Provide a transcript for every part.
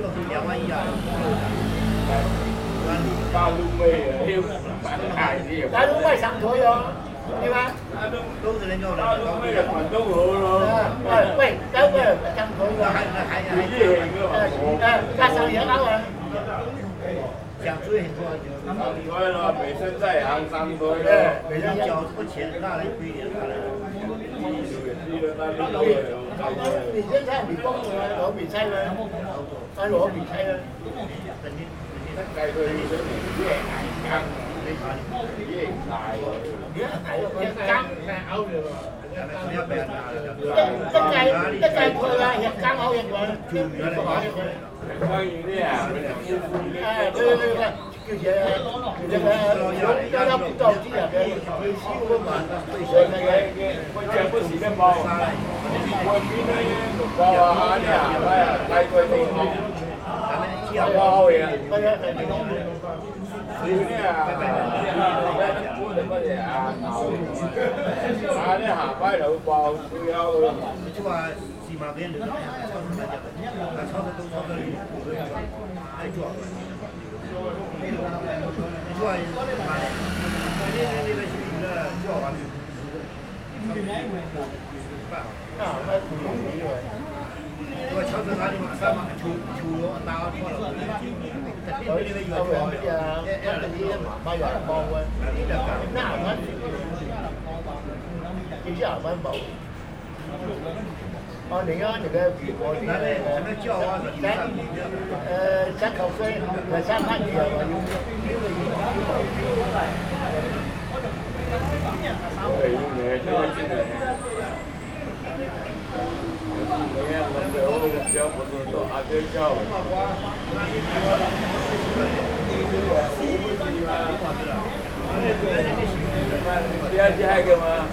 2万1啊。 大陆妹啊， 大陆妹上台哟，对吧？ 都是人家大陆妹啊，广东佬咯。 喂，有個上台喎，加上嘢啱啊！ 想追很多就。 所以咯，本身在行上台咯。 人家缴出钱，那人归点他来。 你現在未講嘅攞未猜啦，攞未猜啦。 計佢想嘢硬，嘢大喎。 一計佢啦，日間好日喎， 關於呢啊， 對。叫嘢有不到啲人嘅，佢燒嗰嘛， 我這不是的包，我比那包啊呢啊，來過地方，包嘅，所以呢啊，我哋乜嘢啊，啊呢下擺就包都有。 你就話起碼俾人哋超市買嘅，但超市都超市裏太多了。你说妈的，那个是一个叫法律，我超市哪里嘛，3嘛，球打错了， 有呢個有啊，啲買人幫嘅，啱啱幾時啱冇？哦，你個我什么叫啊？ 3口水，3塊錢啊！ 第二季係㗎嘛？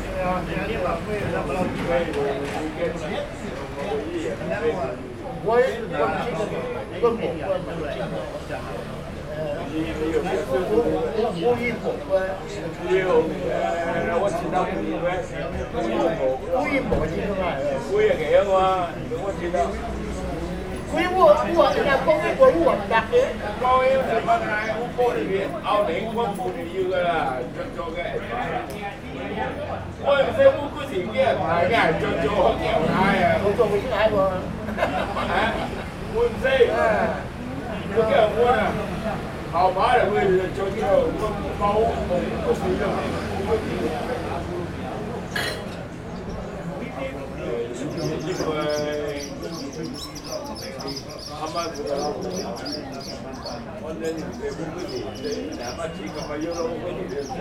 好麻的位置，就这个包不是的。因为他们这个，我那你这不会的，哪怕几个嘛有了我跟你的。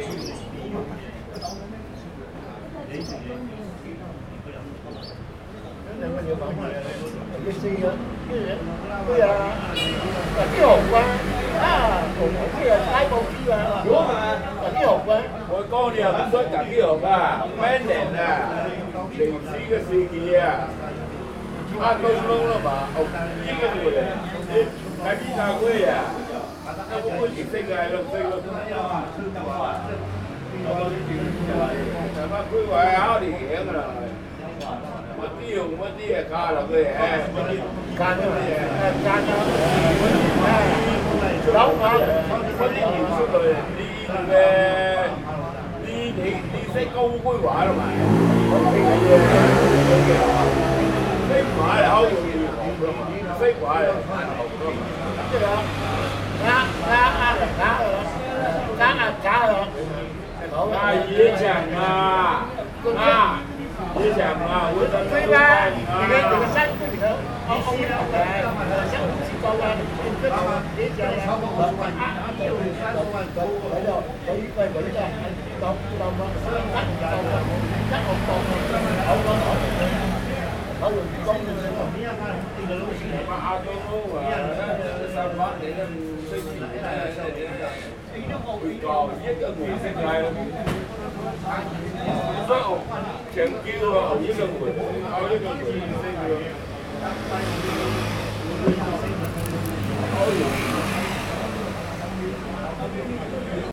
我講你又唔想隔幾號啊？咩年啊？歷史嘅事件啊！都弄了吧？哦，一個月嘞，還比他貴啊！那我不是這個還是這個？什麼規劃好啲嘢㗎啦？我啲嘢加落去誒，加咗老闆，我啲要出嚟，你識高規劃啦嘛？識買好容易學㗎嘛？識買學㗎嘛？即係也講啊，也講啊，我真係對吧？你個山對頭，我想50個啊，你講超過50萬， 全球啊，一個月，一個月，